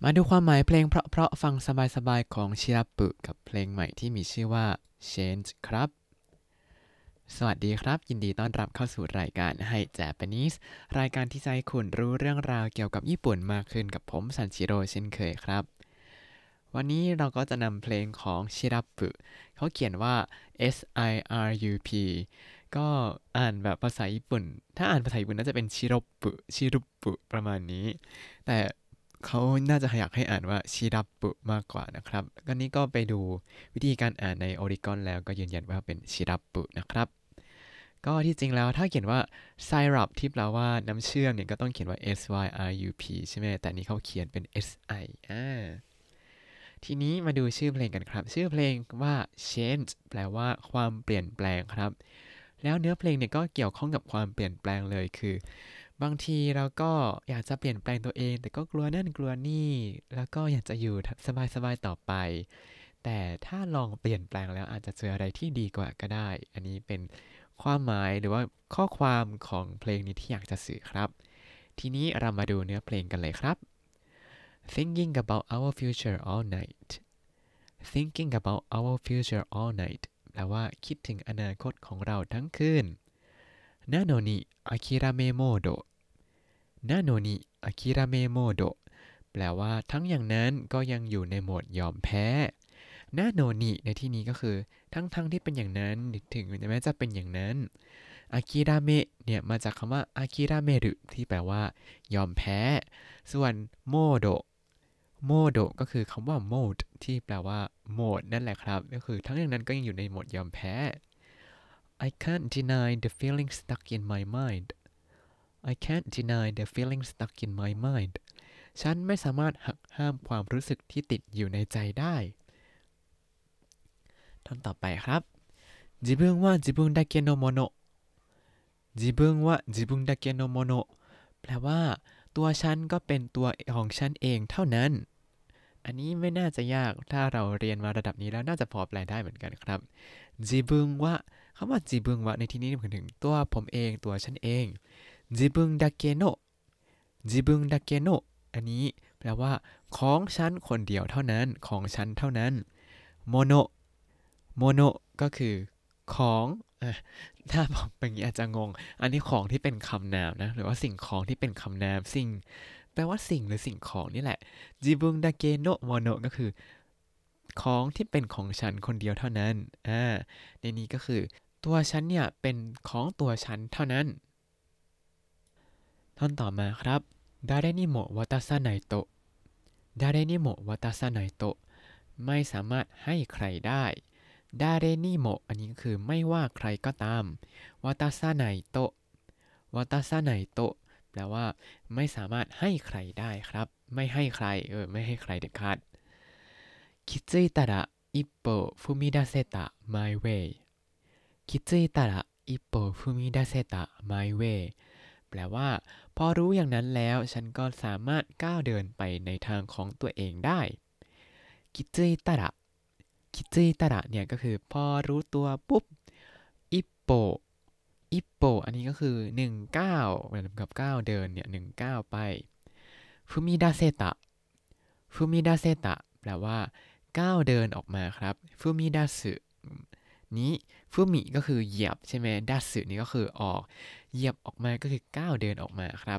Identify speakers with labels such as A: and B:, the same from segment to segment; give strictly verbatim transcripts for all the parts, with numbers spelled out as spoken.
A: มาดูความหมายเพลงเพราะๆฟังสบายๆของชิราปุกับเพลงใหม่ที่มีชื่อว่า Change ครับสวัสดีครับยินดีต้อนรับเข้าสู่รายการ Hi Japanese รายการที่จะให้คุณรู้เรื่องราวเกี่ยวกับญี่ปุ่นมากขึ้นกับผมซันชิโร่เช่นเคยครับวันนี้เราก็จะนำเพลงของชิราปุเขาเขียนว่า S I R U P ก็อ่านแบบภาษาญี่ปุ่นถ้าอ่านภาษาญี่ปุ่นน่าจะเป็นชิโรปุชิรุปุประมาณนี้แต่เขาน่าจะอยากให้อ่านว่าชิรับปุมากกว่านะครับก็นี้ก็ไปดูวิธีการอ่านใน Oricon แล้วก็ยืนยันว่าเป็นชิรับปุนะครับก็ที่จริงแล้วถ้าเขียนว่า syrup ที่แปลว่าน้ำเชื่อมเนี่ยก็ต้องเขียนว่า S Y R U P ใช่ไหมแต่นี้เขาเขียนเป็น S I อ่าทีนี้มาดูชื่อเพลงกันครับชื่อเพลงว่า change แปลว่าความเปลี่ยนแปลงครับแล้วเนื้อเพลงเนี่ยก็เกี่ยวข้องกับความเปลี่ยนแปลงเลยคือบางทีเราก็อยากจะเปลี่ยนแปลงตัวเองแต่ก็กลัวนั่นกลัวนี่แล้วก็อยากจะอยู่สบายๆต่อไปแต่ถ้าลองเปลี่ยนแปลงแล้วอาจจะเจออะไรที่ดีกว่าก็ได้อันนี้เป็นความหมายหรือว่าข้อความของเพลงนี้ที่อยากจะสื่อครับทีนี้เรามาดูเนื้อเพลงกันเลยครับ Thinking about our future all night Thinking about our future all night แปลว่าคิดถึงอนาคตของเราทั้งคืนนาโนนิอาคิราเมโมโดนาโนนิอาคิราเมโมโดแปลว่าทั้งอย่างนั้นก็ยังอยู่ในโหมดยอมแพ้นาโนนิในที่นี้ก็คือทั้งทั้งที่เป็นอย่างนั้นถึงแม้จะเป็นอย่างนั้นอากิราเมะเนี่ยมาจากคำว่าอากิราเมรุที่แปลว่ายอมแพ้ส่วนโมโดโมโดก็คือคำว่า mode ที่แปลว่าโหมดนั่นแหละครับก็คือทั้งอย่างนั้นก็ยังอยู่ในโหมดยอมแพ้ I can't deny the feeling stuck in my mind I can't deny the feeling stuck in my mind ฉันไม่สามารถหักห้ามความรู้สึกที่ติดอยู่ในใจได้ท่อนต่อไปครับ自分は自分だけのもの自分は自分だけのものแปลว่าตัวฉันก็เป็นตัวของฉันเองเท่านั้นอันนี้ไม่น่าจะยากถ้าเราเรียนมาระดับนี้แล้วน่าจะพอแปลได้เหมือนกันครับ自分はคำว่า自分はในที่นี้หมายถึงตัวผมเองตัวฉันเอง自分だけの自分だけのอันนี้แปลว่าของฉันคนเดียวเท่านั้นของฉันเท่านั้นโมโนโมโนก็คือของอ่ะถ้าบอกแบบนี้อาจจะงงอันนี้ของที่เป็นคำนามนะหรือว่าสิ่งของที่เป็นคำนามสิ่งแปลว่าสิ่งหรือสิ่งของนี่แหละจิบุงดาเกโนะโมโนก็คือของที่เป็นของฉันคนเดียวเท่านั้นอ่าในนี้ก็คือตัวฉันเนี่ยเป็นของตัวฉันเท่านั้นท่อนต่อมาครับ誰にも渡さないと誰にも渡さないとไม่สามารถให้ใครได้ดาเรนิโมอันนี้ก็คือไม่ว่าใครก็ตามวาตาซาไนโตะวาตาซาไนโตะแปลว่าไม่สามารถให้ใครได้ครับไม่ให้ใครเออไม่ให้ใครเด็ดขาดคิดซึตาระอิปโปฟุมิดาเซตะ my way คิดซึตาระอิปโปฟุมิดาเซตะ my way แปลว่าพอรู้อย่างนั้นแล้วฉันก็สามารถก้าวเดินไปในทางของตัวเองได้คิดซึตาระคิดซึตาระเนี่ยก็คือพอรู้ตัวปุ๊บอิปโปอิปโปอันนี้ก็คือหนึ่งก้าวเหมือนกับก้าวเดินเนี่ยหนึ่งก้าวไปฟุมิดาเซตะฟุมิดาเซตะแปลว่าก้าวเดินออกมาครับฟุมิดาสึนี้ฟุมิก็คือเหยียบใช่ไหมดัสึนี่ก็คือออกเหยียบออกมาก็คือก้าวเดินออกมาครับ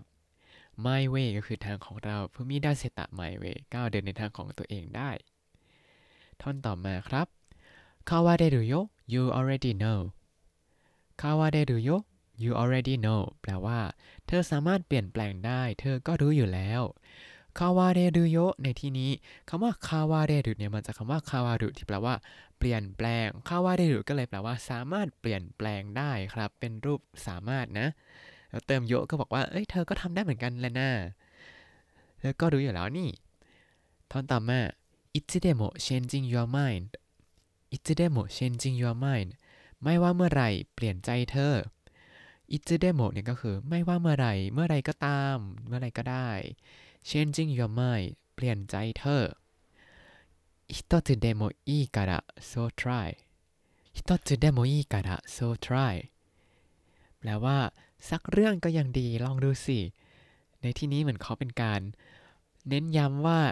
A: my way ก็คือทางของเราฟุมิดาเซตะ my way ก้าวเดินในทางของตัวเองได้ท่อนต่อมาครับ変われるよ you already know 変われるよ you already know แปลว่าเธอสามารถเปลี่ยนแปลงได้เธอก็รู้อยู่แล้วคาวาเรรุโยในที่นี้คำว่าคาวาเรรุเนี่ยมาจากคำว่าคาวารุที่แปลว่าเปลี่ยนแปลงคาวาเรรุก็เลยแปลว่าสามารถเปลี่ยนแปลงได้ครับเป็นรูปสามารถนะแล้วเติมโยก็บอกว่าเอ้ยเธอก็ทำได้เหมือนกันแหละนะเธอก็รู้อยู่แล้วนี่ท่อนต่อมาいつでも changing your mind いつでも changing your mind ไม่ว่าเมื่อไหร่เปลี่ยนใจเธอいつでもเนี่ยก็คือไม่ว่าเมื่อไหร่เมื่อไหร่ก็ตามเมื่อไหร่ก็ได้ changing your mind เปลี่ยนใจเธอ一つでもいいから so try 一つでもいいから so try แปลว่าสักเรื่องก็ยังดีลองดูสิในที่นี้เหมือนเขาเป็นการเน้นย้ำว่า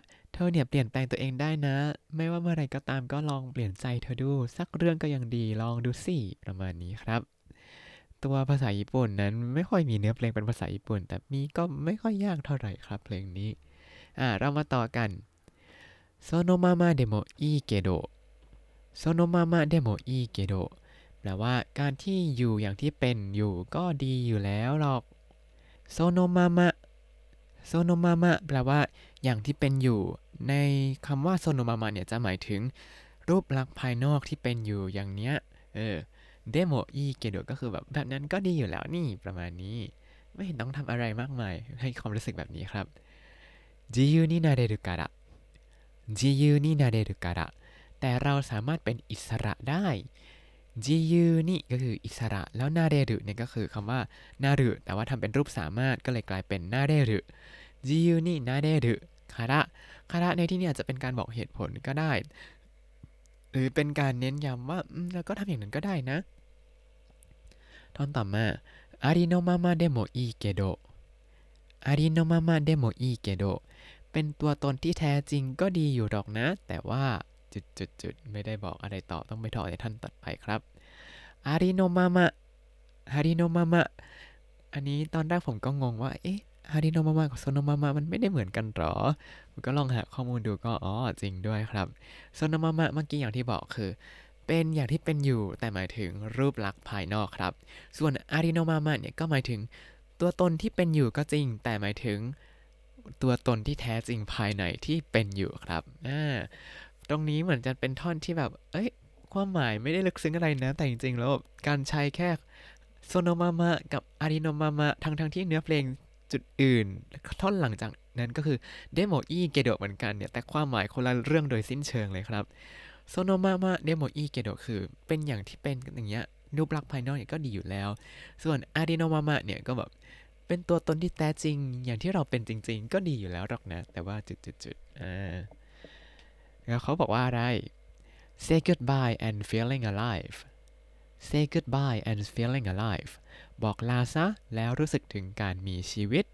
A: อเนี่ยเปลี่ยนแปลงตัวเองได้นะไม่ว่าเมื่อไรก็ตามก็ลองเปลี่ยนใจเธอดูสักเรื่องก็ยังดีลองดูสิประมาณนี้ครับตัวภาษาญี่ปุ่นนั้นไม่ค่อยมีเนื้อเพลงเป็นภาษาญี่ปุ่นแต่มีก็ไม่ค่อยยากเท่าไหร่ครับเพลงนี้อ่าเรามาต่อกันโซโนมามาเดโมอีเกโดโซโนมามาเดโมอีเกโดแปลว่าการที่อยู่อย่างที่เป็นอยู่ก็ดีอยู่แล้วหรอกโซโนมามะโซโนมามะแปลว่าอย่างที่เป็นอยู่ในคำว่าโซโนมามะเนี่ยจะหมายถึงรูปลักษณ์ภายนอกที่เป็นอยู่อย่างเนี้ยเออเดโมอีเกโดก็คือแบบแบบนั้นก็ดีอยู่แล้วนี่ประมาณนี้ไม่เห็นต้องทำอะไรมากมายให้ความรู้สึกแบบนี้ครับจิยูนินาเรรุการะจิยูนินาเรรุการะแต่เราสามารถเป็นอิสระได้จิยูนี่ก็คืออิสระแล้วนาเรรุเนี่ยก็คือคำว่านารุแต่ว่าทำเป็นรูปสามารถก็เลยกลายเป็นนาเรรุจิยูนี่นาเรรุคาระคาระในที่นี้อาจจะเป็นการบอกเหตุผลก็ได้หรือเป็นการเน้นย้ำว่าแล้วก็ทำอย่างนั้นก็ได้นะท่อนต่อมาอาริโนมามาเดโมอีเกโดอาริโนมามาเดโมอีเกโดเป็นตัวตนที่แท้จริงก็ดีอยู่หรอกนะแต่ว่าจุดๆๆไม่ได้บอกอะไรต่อต้องไปต่อในท่านต่อไปครับอาริโนมามะอาริโนมามะอันนี้ตอนแรกผมก็งงว่าเอ๊ะอาริโนมามะกับโซโนมามะมันไม่ได้เหมือนกันหรอผมก็ลองหาข้อมูลดูก็อ๋อจริงด้วยครับโซโนมามะเมื่อกี้อย่างที่บอกคือเป็นอย่างที่เป็นอยู่แต่หมายถึงรูปลักษณ์ภายนอกครับส่วนอาริโนมามะเนี่ยก็หมายถึงตัวตนที่เป็นอยู่ก็จริงแต่หมายถึงตัวตนที่แท้จริงภายในที่เป็นอยู่ครับอ่าตรงนี้เหมือนจะเป็นท่อนที่แบบเอ้ยความหมายไม่ได้ลึกซึ้งอะไรนะแต่จริงๆแล้วการใช้แค่โซโนมามะกับอาริโนมามะทั้งทั้งที่เนื้อเพลงจุดอื่นท่อนหลังจากนั้นก็คือเดโมอีเกโดเหมือนกันเนี่ยแต่ความหมายคนละเรื่องโดยสิ้นเชิงเลยครับโซโนมามะเดโมอีเกโดคือเป็นอย่างที่เป็นอย่างเงี้ยรูปลักษณ์ภายนอกเนี่ยก็ดีอยู่แล้วส่วนอาริโนมามะเนี่ยก็แบบเป็นตัวตนที่แท้จริงอย่างที่เราเป็นจริงๆก็ดีอยู่แล้วหรอกนะแต่ว่าจุดๆๆอ่าแล้วเขาบอกว่าอะไร say goodbye and feeling alive say goodbye and feeling alive บอกลาซะแล้วรู้สึกถึงการมีชีวิต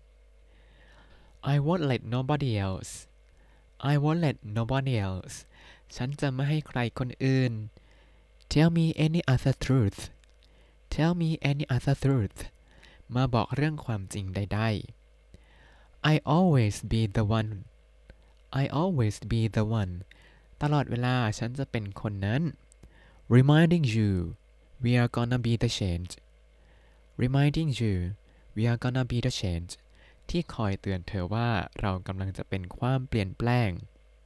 A: I won't let nobody else I won't let nobody else ฉันจะไม่ให้ใครคนอื่น tell me any other truth tell me any other truth มาบอกเรื่องความจริงใดๆ I always be the one I always be the one ตลอดเวลาฉันจะเป็นคนนั้น reminding you we are gonna be the change reminding you we are gonna be the change ที่คอยเตือนเธอว่าเรากำลังจะเป็นความเปลี่ยนแปลง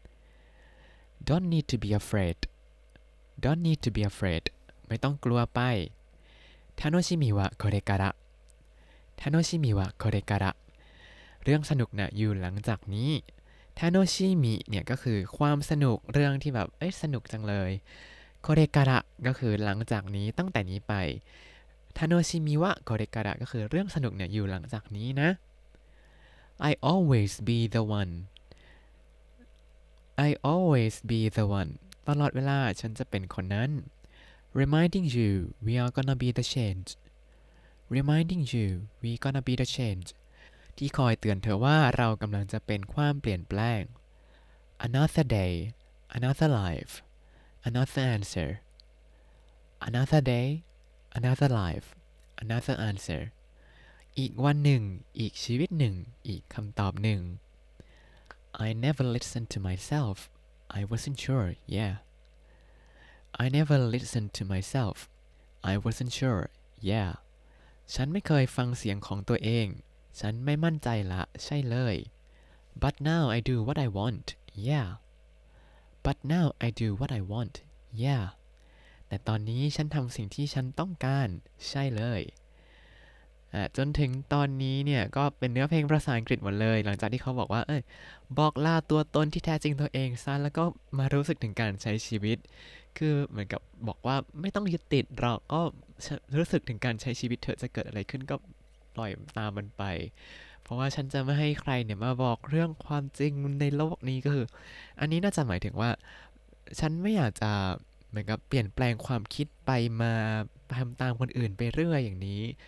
A: don't need to be afraid don't need to be afraid ไม่ต้องกลัวไปทาโนชิมิวะโคเรการะทาโนชิมิวะโคเรการะเรื่องสนุกนะอยู่หลังจากนี้ทาโนชิมิเนี่ยก็คือความสนุกเรื่องที่แบบเอ้ยสนุกจังเลยโคเรการะก็คือหลังจากนี้ตั้งแต่นี้ไปทาโนชิมิวะโคเรการะก็คือเรื่องสนุกเนี่ยอยู่หลังจากนี้นะ I always be the one I always be the one ตลอดเวลาฉันจะเป็นคนนั้น reminding you we are gonna be the change reminding you we gonna be the change ที่คอยเตือนเธอว่าเรากำลังจะเป็นความเปลี่ยนแปลง another day another life another answer another day another life another answer อีกวันหนึ่งอีกชีวิตหนึ่งอีกคำตอบหนึ่ง I never listened to myself I wasn't sure yeah I never listened to myself I wasn't sure yeah ฉันไม่เคยฟังเสียงของตัวเองฉันไม่มั่นใจละใช่เลย but now I do what I want yeah but now I do what I want yeah แต่ตอนนี้ฉันทำสิ่งที่ฉันต้องการใช่เลยจนถึงตอนนี้เนี่ยก็เป็นเนื้อเพลงภาษาอังกฤษหมดเลยหลังจากที่เขาบอกว่าเอ้ยบอกลาตัวตนที่แท้จริงตัวเองซะแล้วก็มารู้สึกถึงการใช้ชีวิตคือเหมือนกับบอกว่าไม่ต้องยึดติดหรอกก็รู้สึกถึงการใช้ชีวิตเถอะจะเกิดอะไรขึ้นก็ปล่อยตามมันไปเพราะว่าฉันจะไม่ให้ใครเนี่ยมาบอกเรื่องความจริงในโลกนี้ก็คืออันนี้น่าจะหมายถึงว่าฉันไม่อยากจะเหมือนกับเปลี่ยนแปลงความคิดไปมาทำตามคนอื่นไปเรื่อยอย่างนี้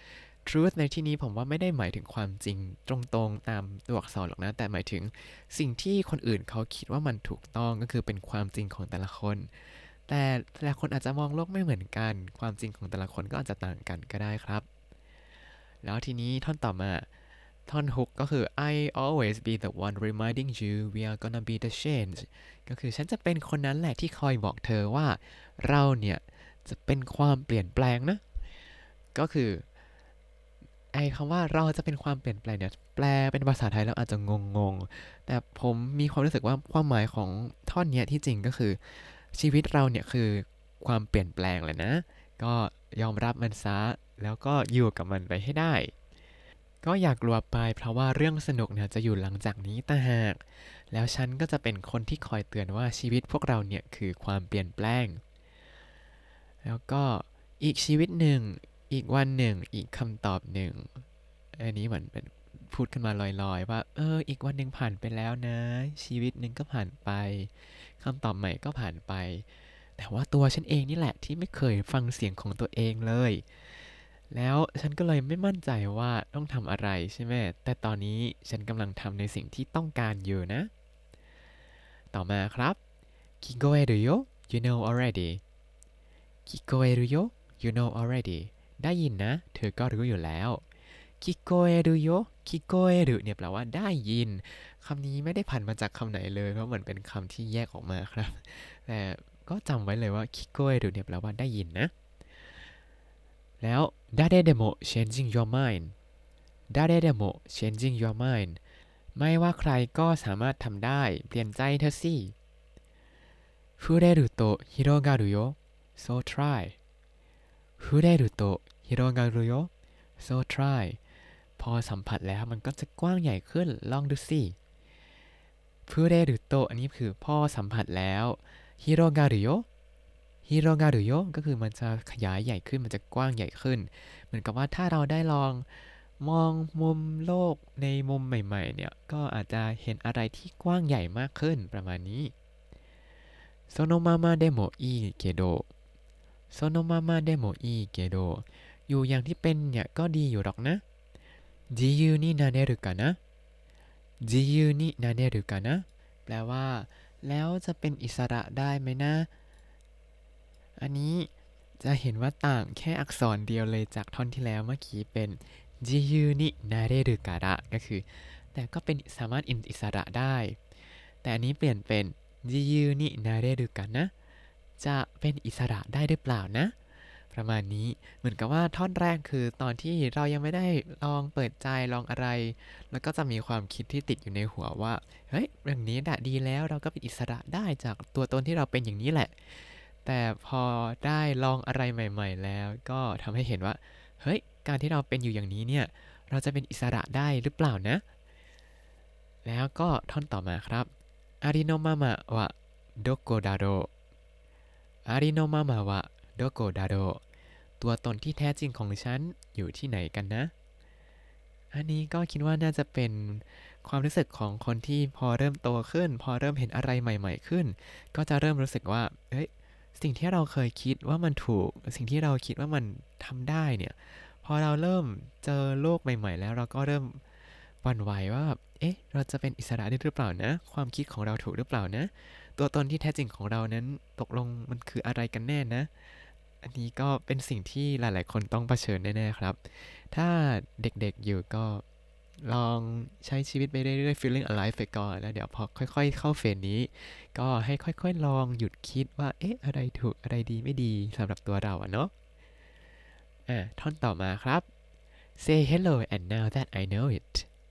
A: truth ในที่นี้ผมว่าไม่ได้หมายถึงความจริงตรงๆตามตัวอักษรหรอกนะแต่หมายถึงสิ่งที่คนอื่นเขาคิดว่ามันถูกต้องก็คือเป็นความจริงของแต่ละคนแต่แต่ละคนอาจจะมองโลกไม่เหมือนกันความจริงของแต่ละคนก็อาจจะต่างกันก็ได้ครับแล้วทีนี้ท่อนต่อมาท่อนฮุกก็คือ I always be the one reminding you we are gonna be the change ก็คือฉันจะเป็นคนนั้นแหละที่คอยบอกเธอว่าเราเนี่ยจะเป็นความเปลี่ยนแปลงนะก็คือไอ้คำว่าเราจะเป็นความเปลี่ยนแปลงเนี่ยแปลเป็นภาษาไทยแล้วอาจจะงงๆแต่ผมมีความรู้สึกว่าความหมายของท่อนเนี้ยที่จริงก็คือชีวิตเราเนี่ยคือความเปลี่ยนแปลงแหละนะก็ยอมรับมันซะแล้วก็อยู่กับมันไปให้ได้ก็อย่ากลัวไปเพราะว่าเรื่องสนุกเนี่ยจะอยู่หลังจากนี้ต่างหากแล้วฉันก็จะเป็นคนที่คอยเตือนว่าชีวิตพวกเราเนี่ยคือความเปลี่ยนแปลงแล้วก็อีกชีวิตหนึ่งอีกวันหนึ่งอีกคำตอบหนึ่งอันนี้เหมือนเป็นพูดขึ้นมาลอยๆว่าเอออีกวันหนึ่งผ่านไปแล้วนะชีวิตหนึ่งก็ผ่านไปคำตอบใหม่ก็ผ่านไปแต่ว่าตัวฉันเองนี่แหละที่ไม่เคยฟังเสียงของตัวเองเลยแล้วฉันก็เลยไม่มั่นใจว่าต้องทำอะไรใช่ไหมแต่ตอนนี้ฉันกำลังทำในสิ่งที่ต้องการอยู่นะต่อมาครับ聞こえるよ you know already 聞こえるよ you know already ได้ยินนะเธอก็รู้อยู่แล้ว聞こえるよ聞こえるเนี่ยแปลว่าได้ยินคำนี้ไม่ได้ผันมาจากคำไหนเลยเพราะเหมือนเป็นคำที่แยกออกมาครับแต่ก็จำไว้เลยว่า聞こえるเนี่ยแปลว่าได้ยินนะแล้ว誰でも changing your mind 誰でも changing your mind ไม่ว่าใครก็สามารถทำได้เปลี่ยนใจเธอสิ触れると広がるよ so try 触れると広がるよ so try พอสัมผัสแล้วมันก็จะกว้างใหญ่ขึ้นลองดูสิ触れるとอันนี้คือพอสัมผัสแล้ว広がるよฮิโรกา r ุโยก็คือมันจะขยายใหญ่ขึ้นมันจะกว้างใหญ่ขึ้นเหมือนกับว่าถ้าเราได้ลองมองมุมโลกในมุมใหม่ๆเนี่ยก็อาจจะเห็นอะไรที่กว้างใหญ่มากขึ้นประมาณนี้そのままでもいいけどそのままでもいいけどอยู่อย่างที่เป็นเนี่ยก็ดีอยู่หรอกนะ自由になれるかな自由になれるかなแปลว่าแล้วจะเป็นอิสระได้ไหมนะอันนี้จะเห็นว่าต่างแค่อักษรเดียวเลยจากท่อนที่แล้วเมื่อกี้เป็นจิยูนินาเรรุการะก็คือแต่ก็เป็นสามารถอิสระได้แต่อันนี้เปลี่ยนเป็นจิยูนินาเรรุกันนะจะเป็นอิสระได้หรือเปล่านะประมาณนี้เหมือนกับว่าท่อนแรกคือตอนที่เรายังไม่ได้ลองเปิดใจลองอะไรแล้วก็จะมีความคิดที่ติดอยู่ในหัวว่าเฮ้ยเรื่องนี้ดะดีแล้วเราก็เป็นอิสระได้จากตัวตนที่เราเป็นอย่างนี้แหละแต่พอได้ลองอะไรใหม่ๆแล้วก็ทำให้เห็นว่าเฮ้ยการที่เราเป็นอยู่อย่างนี้เนี่ยเราจะเป็นอิสระได้หรือเปล่านะแล้วก็ท่อนต่อมาครับอาริโนมามะวะโดโกดาโรอาริโนมามะวะโดโกดาโรตัวตนที่แท้จริงของฉันอยู่ที่ไหนกันนะอันนี้ก็คิดว่าน่าจะเป็นความรู้สึกของคนที่พอเริ่มโตขึ้นพอเริ่มเห็นอะไรใหม่ๆขึ้นก็จะเริ่มรู้สึกว่าเฮ้ยสิ่งที่เราเคยคิดว่ามันถูกสิ่งที่เราคิดว่ามันทำได้เนี่ยพอเราเริ่มเจอโลกใหม่ๆแล้วเราก็เริ่มหวั่นไหวว่าแบบเอ๊ะเราจะเป็นอิสระได้หรือเปล่านะความคิดของเราถูกหรือเปล่านะตัวตนที่แท้จริงของเรานั้นตกลงมันคืออะไรกันแน่นะอันนี้ก็เป็นสิ่งที่หลายๆคนต้องเผชิญแน่ๆครับถ้าเด็กๆอยู่ก็ลองใช้ชีวิตไปเรื่อยๆ feeling alive ไปก่อนแล้วเดี๋ยวพอค่อยๆเข้าเฟสนี้ก็ให้ค่อยๆลองหยุดคิดว่าเอ๊ะอะไรถูกอะไรดีไม่ดีสำหรับตัวเราอะเนาะอ่ะท่อนต่อมาครับ say hello and now that I know it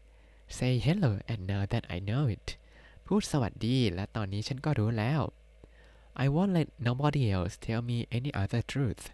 A: say hello and now that I know it พูดสวัสดีและตอนนี้ฉันก็รู้แล้ว I won't let nobody else tell me any other truth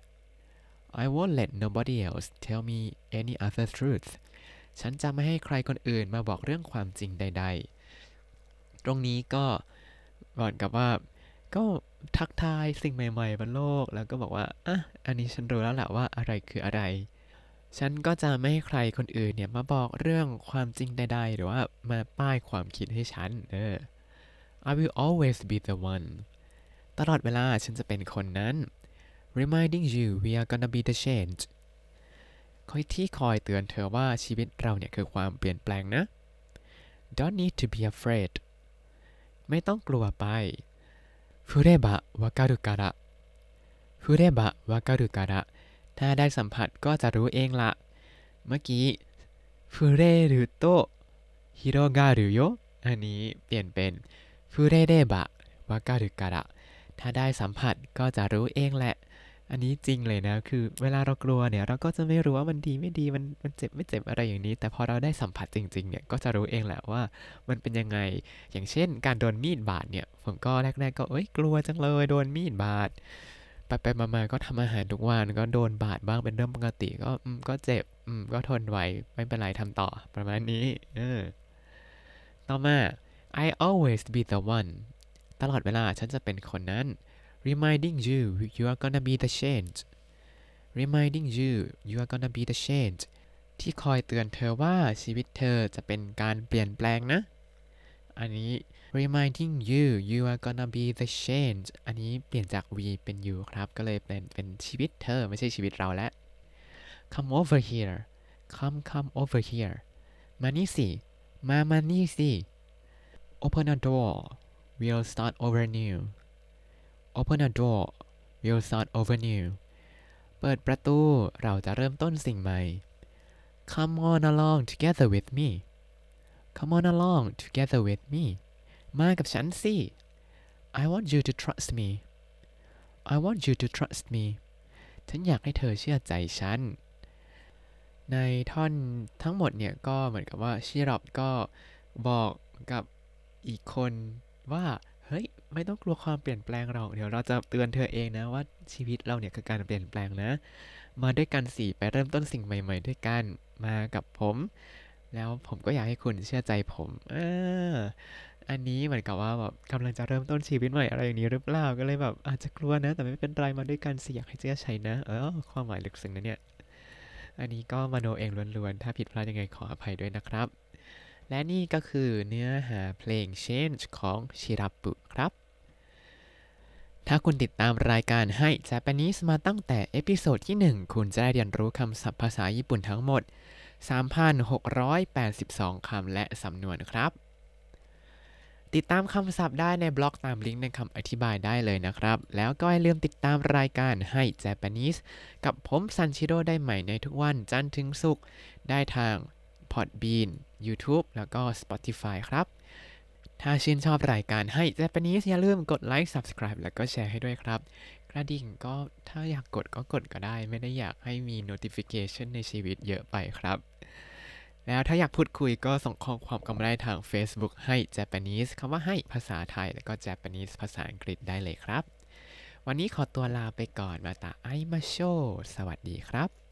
A: I won't let nobody else tell me any other truth ฉันจะไม่ให้ใครคนอื่นมาบอกเรื่องความจริงใดๆตรงนี้ก็ก่อนกับว่าก็ทักทายสิ่งใหม่ๆบนโลกแล้วก็บอกว่าอ่ะอันนี้ฉันรู้แล้วแหละว่าอะไรคืออะไรฉันก็จะไม่ให้ใครคนอื่นเนี่ยมาบอกเรื่องความจริงใดๆหรือว่ามาป้ายความคิดให้ฉันเออ I will always be the one ตลอดเวลาฉันจะเป็นคนนั้น reminding you we are gonna be the change คอยที่คอยเตือนเธอว่าชีวิตเราเนี่ยคือความเปลี่ยนแปลงนะ Don't need to be afraid ไม่ต้องกลัวไป触ればわかるから触ればわかるからถ้าได้สัมผัสก็จะรู้เองละเมื่อกี้触れると広がるよอันนี้เปลี่ยนเป็น触れればわかるからถ้าได้สัมผัสก็จะรู้เองแหละอันนี้จริงเลยนะคือเวลาเรากลัวเนี่ยเราก็จะไม่รู้ว่ามันดีไม่ดีมันมันเจ็บไม่เจ็บอะไรอย่างนี้แต่พอเราได้สัมผัสจริงๆเนี่ยก็จะรู้เองแหละว่ามันเป็นยังไงอย่างเช่นการโดนมีดบาดเนี่ยผมก็แรกๆก็เอ้ยกลัวจังเลยโดนมีดบาดไปไปมาๆก็ทำอาหารทุกวันก็โดนบาดบ้างเป็นเรื่องปกติก็อืมก็เจ็บอืมก็ทนไหวไม่เป็นไรทำต่อประมาณนี้เออต่อมา I always be the one ตลอดเวลาฉันจะเป็นคนนั้น reminding you you are gonna be the change reminding you you are gonna be the change ที่คอยเตือนเธอว่าชีวิตเธอจะเป็นการเปลี่ยนแปลงนะอันนี้ reminding you you are gonna be the change อันนี้เปลี่ยนจาก we เป็น you ครับก็เลยเป็นเป็นชีวิตเธอไม่ใช่ชีวิตเราแล้ว come over here come come over here มานี่สิมามานี่สิ open a door we'll start over new open a door we'll start over new เปิดประตูเราจะเริ่มต้นสิ่งใหม่ come on along together with me come on along together with me มากับฉันสิ I want you to trust me I want you to trust me ฉันอยากให้เธอเชื่อใจฉันในท่อนทั้งหมดเนี่ยก็เหมือนกับว่าชิรอบก็บอกกับอีกคนว่าเฮ้ยไม่ต้องกลัวความเปลี่ยนแปลงหรอกเดี๋ยวเราจะเตือนเธอเองนะว่าชีวิตเราเนี่ยคือการเปลี่ยนแปลงนะมาด้วยกันสิไปเริ่มต้นสิ่งใหม่ๆด้วยกันมากับผมแล้วผมก็อยากให้คุณเชื่อใจผมอ่าอันนี้เหมือนกับว่าแบบกำลังจะเริ่มต้นชีวิตใหม่อะไรอย่างนี้หรือเปล่าก็เลยแบบอาจจะกลัวนะแต่ไม่เป็นไรมาด้วยกันสิอยากให้เชื่อใจนะเออความหมายลึกซึ้งนะเนี่ยอันนี้ก็มโนเองล้วนๆถ้าผิดพลาดยังไงขออภัยด้วยนะครับและนี่ก็คือเนื้อหาเพลง Change ของชิราปุครับถ้าคุณติดตามรายการให้ Japanese มาตั้งแต่เอพิโซดที่หนึ่งคุณจะได้เรียนรู้คำศัพท์ภาษาญี่ปุ่นทั้งหมด สามพันหกร้อยแปดสิบสอง คำและสำนวนครับติดตามคำศัพท์ได้ในบล็อกตามลิงก์ในคำอธิบายได้เลยนะครับแล้วก็อย่าลืมติดตามรายการให้ Japanese กับผมซันชิโร่ได้ใหม่ในทุกวันจันทร์ถึงศุกร์ได้ทาง Podbean YouTube แล้วก็ Spotify ครับถ้าชื่นชอบรายการให้ Japanese อย่าลืมกดไลค์ Subscribe แล้วก็แชร์ให้ด้วยครับกระดิ่งก็ถ้าอยากกดก็กดก็ได้ไม่ได้อยากให้มี notification ในชีวิตเยอะไปครับแล้วถ้าอยากพูดคุยก็ส่งข้อความกันมาได้ทาง Facebook ให้ Japanese คำว่าให้ภาษาไทยแล้วก็ Japanese ภาษาอังกฤษได้เลยครับวันนี้ขอตัวลาไปก่อนมาตาไอมาโชสวัสดีครับ